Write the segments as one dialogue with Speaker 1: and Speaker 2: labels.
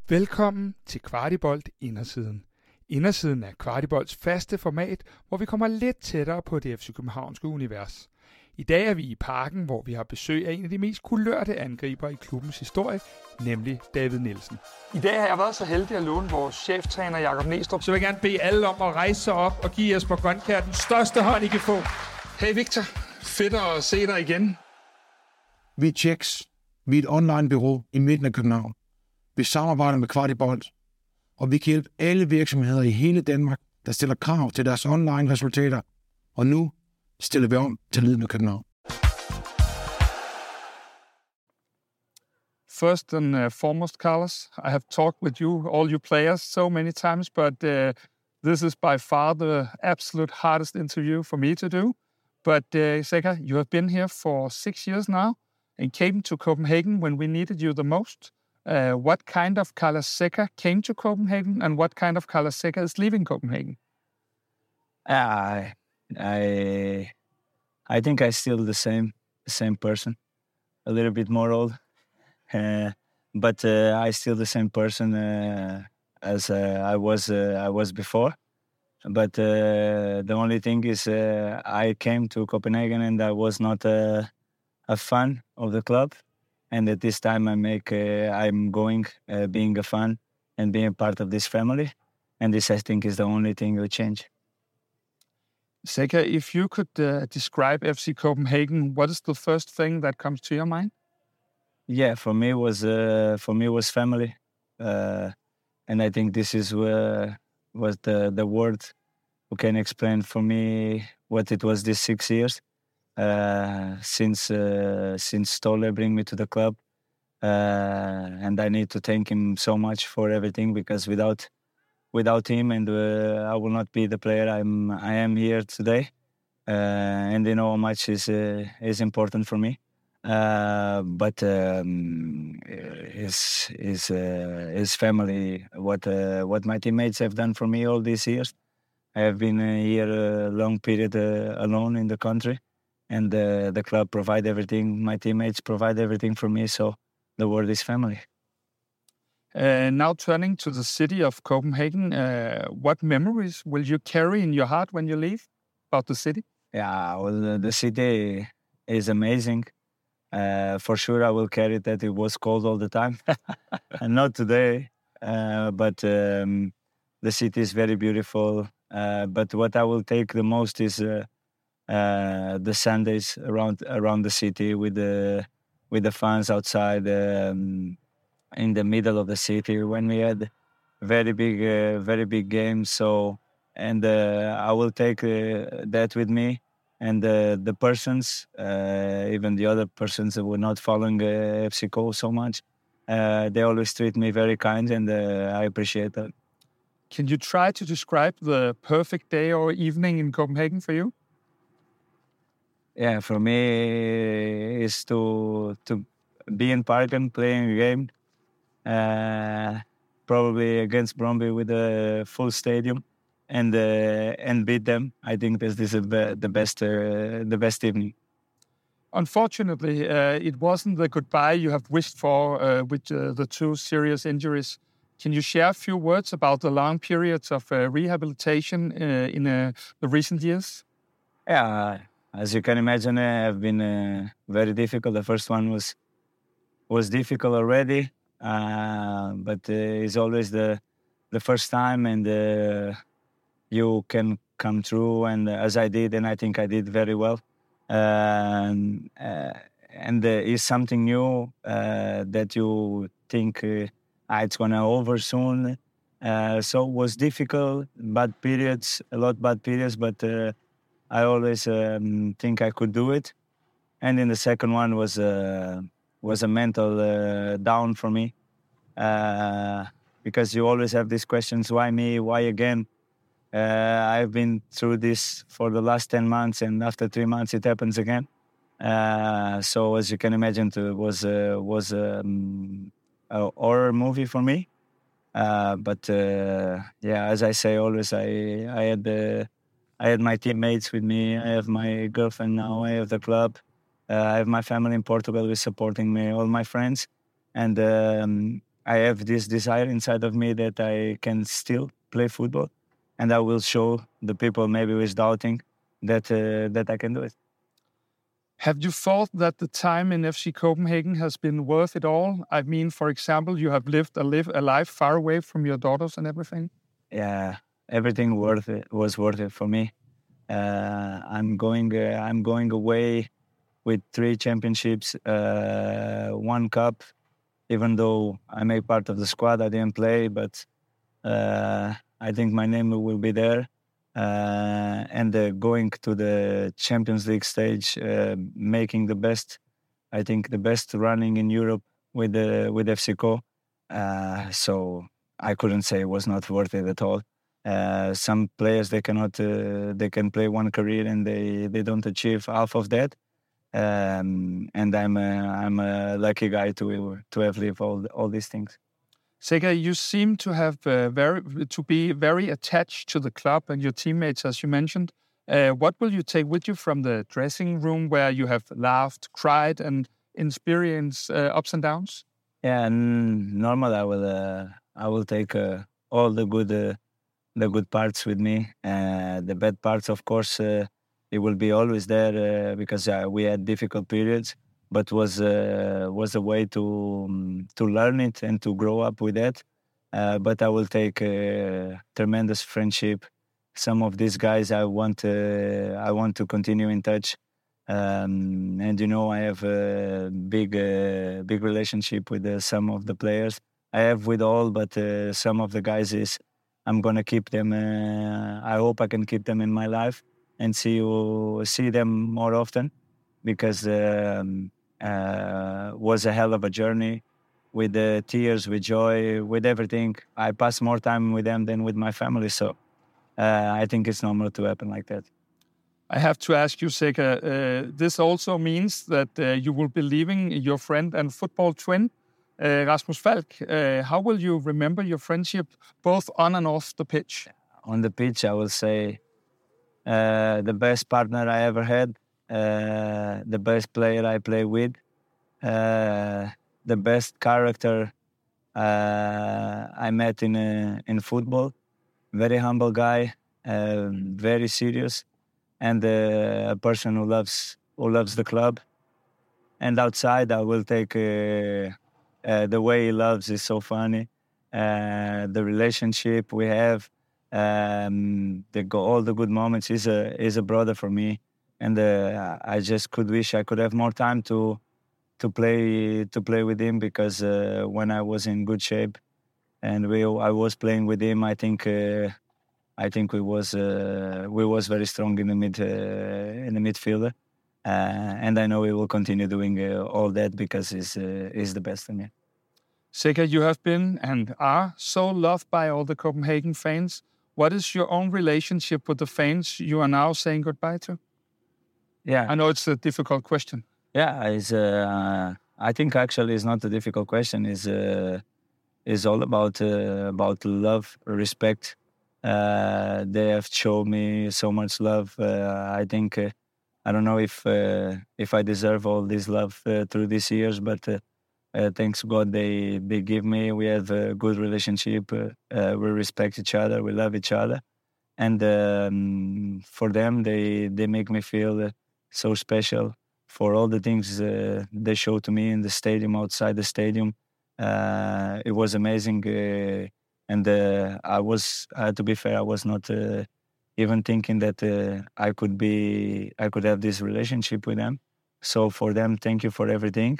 Speaker 1: Velkommen til Kvartibolt Indersiden. Indersiden er Kvartibolts faste format, hvor vi kommer lidt tættere på det FC Københavnske univers. I dag er vi i Parken, hvor vi har besøg af en af de mest kulørte angriber i klubbens historie, nemlig David Nielsen. I dag har jeg været så heldig at låne vores cheftræner Jakob Næstrup, så vil jeg gerne bede alle om at rejse sig op og give Jesper Grønkjær den største hånd, I kan få. Hey Victor, fedt at se dig igen.
Speaker 2: Vi er Checks. Vi er et online-bureau i midten af København. Vi samarbejder med Kvartibolt, og vi kan hjælpe alle virksomheder i hele Danmark, der stiller krav til deres online-resultater. Og nu stiller vi om til Lyden af København.
Speaker 1: First and foremost, Carlos, I have talked with you, all you players, so many times, but this is by far the absolute hardest interview for me to do. But Zeca, you have been here for 6 years now and came to Copenhagen when we needed you the most. What kind of Carlos Zeca came to Copenhagen and what kind of Carlos Zeca is leaving Copenhagen?
Speaker 3: I think I still the same person, a little bit more old, but I still the same person as I was before. But the only thing is I came to Copenhagen and I was not a fan of the club. And at this time, I'm going, being a fan and being part of this family. And this, I think, is the only thing that will change.
Speaker 1: Zeca, if you could describe FC Copenhagen, what is the first thing that comes to your mind?
Speaker 3: Yeah, for me was family, and I think this is was the word who can explain for me what it was these 6 years. Since Ståle bring me to the club, and I need to thank him so much for everything, because without him, and I will not be the player I am here today. And you know how much is important for me. But his family, what my teammates have done for me all these years. I have been here a long period alone in the country. And the club provide everything. My teammates provide everything for me. So the word is family.
Speaker 1: Now turning to the city of Copenhagen, what memories will you carry in your heart when you leave about the city?
Speaker 3: Yeah, well, the city is amazing. For sure, I will carry that it was cold all the time. And not today. But the city is very beautiful. But what I will take the most is... the Sundays around the city with the fans outside in the middle of the city when we had very big games. So and I will take that with me, and the persons, even the other persons that were not following FC Co so much, they always treat me very kind, and I appreciate that.
Speaker 1: Can you try to describe the perfect day or evening in Copenhagen for you?
Speaker 3: Yeah, for me, is to be in Parken playing a game, probably against Brøndby with a full stadium, and beat them. I think this is the best evening.
Speaker 1: Unfortunately, it wasn't the goodbye you have wished for with the 2 serious injuries. Can you share a few words about the long periods of rehabilitation in the recent years?
Speaker 3: Yeah. As you can imagine, have been very difficult. The first one was difficult already, but it's always the first time, and you can come through. And as I did, and I think I did very well. And it's something new that you think it's gonna over soon. So it was difficult, bad periods, but. I always think I could do it, and then the second one was a mental down for me, because you always have these questions: why me? Why again? I've been through this for the last 10 months, and after 3 months it happens again. So as you can imagine, it was a horror movie for me. But as I say always, I had my teammates with me. I have my girlfriend now. I have the club. I have my family in Portugal who is supporting me, all my friends. And I have this desire inside of me that I can still play football, and I will show the people maybe who is doubting that I can do it.
Speaker 1: Have you thought that the time in FC Copenhagen has been worth it all? I mean, for example, you have lived a life far away from your daughters and everything.
Speaker 3: Yeah, everything was worth it for me. I'm going away with 3 championships, 1 cup. Even though I make part of the squad, I didn't play, but I think my name will be there. And going to the Champions League stage, making the best running in Europe with FC Co. So I couldn't say it was not worth it at all. Some players they can play one career and they don't achieve half of that. And I'm a lucky guy to have lived all these things.
Speaker 1: Seca, you seem to have be very attached to the club and your teammates, as you mentioned. What will you take with you from the dressing room where you have laughed, cried, and experienced ups and downs?
Speaker 3: Yeah, and normally I will take all the good parts with me. The bad parts, of course, it will be always there because we had difficult periods. But was a way to learn it and to grow up with that. But I will take tremendous friendship. Some of these guys I want to continue in touch, and I have a big relationship with some of the players. I have with all, but some of the guys I'm gonna keep them. I hope I can keep them in my life and see them more often, because was a hell of a journey with the tears, with joy, with everything. I pass more time with them than with my family, so I think it's normal to happen like that.
Speaker 1: I have to ask you, Seca, this also means that you will be leaving your friend and football twin, Rasmus Falk. How will you remember your friendship, both on and off the pitch?
Speaker 3: On the pitch, I will say the best partner I ever had, the best player I play with, the best character I met in football. Very humble guy, very serious, and a person who loves the club. And outside, I will take the way he loves is so funny. The relationship we have, all the good moments. He's a brother for me, and I just could wish I could have more time to play with him, because when I was in good shape and I was playing with him, I think we was very strong in the midfielder, and I know we will continue doing all that because he's the best in me.
Speaker 1: Seca, you have been and are so loved by all the Copenhagen fans. What is your own relationship with the fans you are now saying goodbye to?
Speaker 3: Yeah,
Speaker 1: I know it's a difficult question.
Speaker 3: Yeah, I think actually it's not a difficult question. It's all about love, respect. They have shown me so much love. I think I don't know if I deserve all this love through these years, but thanks God they give me. We have a good relationship. We respect each other. We love each other, and for them they make me feel so special. For all the things they showed to me in the stadium, outside the stadium, it was amazing. And to be fair, I was not even thinking that I could have this relationship with them. So for them, thank you for everything.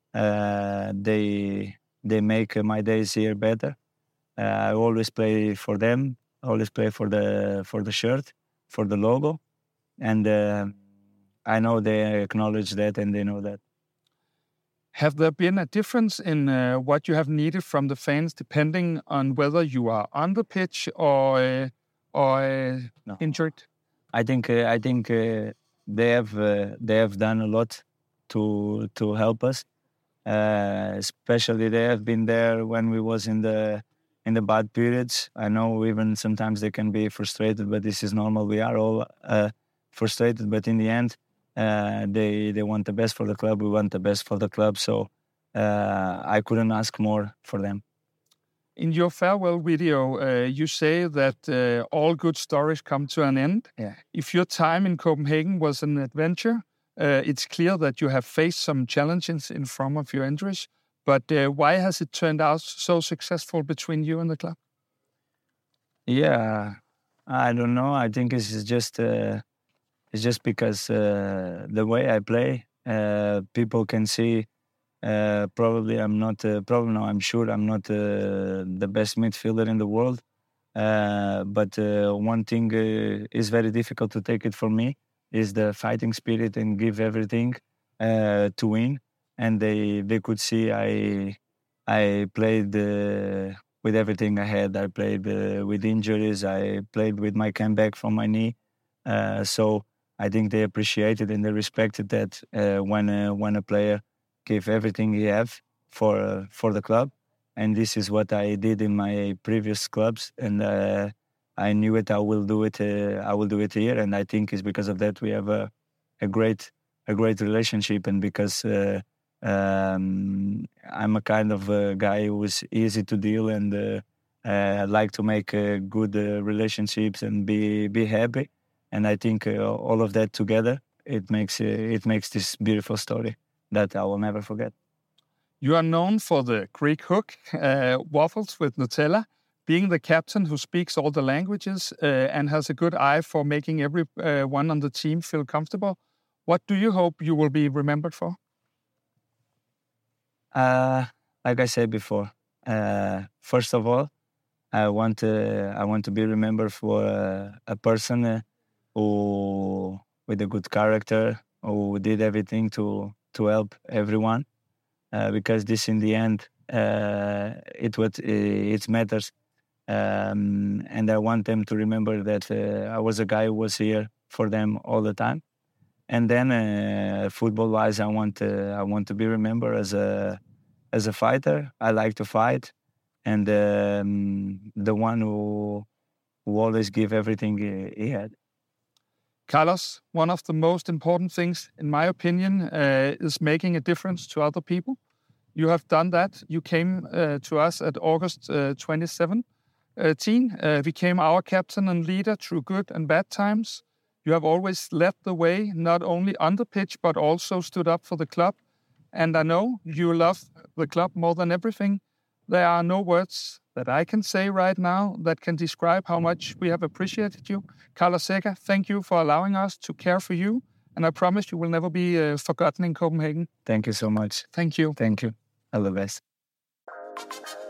Speaker 3: They make my days here better. I always play for them. I always play for the shirt, for the logo, and I know they acknowledge that and they know that.
Speaker 1: Have there been a difference in what you have needed from the fans, depending on whether you are on the pitch or
Speaker 3: No.
Speaker 1: injured?
Speaker 3: I think they have done a lot to help us. Especially they have been there when we was in the bad periods. I know even sometimes they can be frustrated, but this is normal. We are all frustrated, but in the end, they want the best for the club. We want the best for the club. So I couldn't ask more for them.
Speaker 1: In your farewell video, you say that all good stories come to an end.
Speaker 3: Yeah.
Speaker 1: If your time in Copenhagen was an adventure, it's clear that you have faced some challenges in front of your injuries. But why has it turned out so successful between you and the club?
Speaker 3: Yeah, I don't know. I think it's just because the way I play, people can see. Probably I'm not. Probably no, I'm sure I'm not the best midfielder in the world. But one thing is very difficult to take it for me is the fighting spirit and give everything to win. And they could see I played with everything I had. I played with injuries. I played with my comeback from my knee. So I think they appreciated and they respected that when a player gave everything he have for the club. And this is what I did in my previous clubs. And I knew it. I will do it. I will do it here. And I think it's because of that we have a great relationship. And because I'm a kind of guy who is easy to deal and like to make good relationships and be happy. And I think all of that together, it makes this beautiful story that I will never forget.
Speaker 1: You are known for the Greek hook, waffles with Nutella, being the captain who speaks all the languages and has a good eye for making everyone on the team feel comfortable. What do you hope you will be remembered for?
Speaker 3: Like I said before, first of all, I want to be remembered for a person who with a good character, who did everything to help everyone, because this in the end it matters, and I want them to remember that I was a guy who was here for them all the time. And then football-wise, I want to be remembered as a fighter. I like to fight, and the one who always give everything he had.
Speaker 1: Carlos, one of the most important things, in my opinion, is making a difference to other people. You have done that. You came to us at August 2017, became our captain and leader through good and bad times. You have always led the way, not only on the pitch, but also stood up for the club. And I know you love the club more than everything. There are no words that I can say right now that can describe how much we have appreciated you. Carlos Zeca, thank you for allowing us to care for you. And I promise you will never be forgotten in Copenhagen.
Speaker 3: Thank you so much.
Speaker 1: Thank you.
Speaker 3: Thank you. All the best.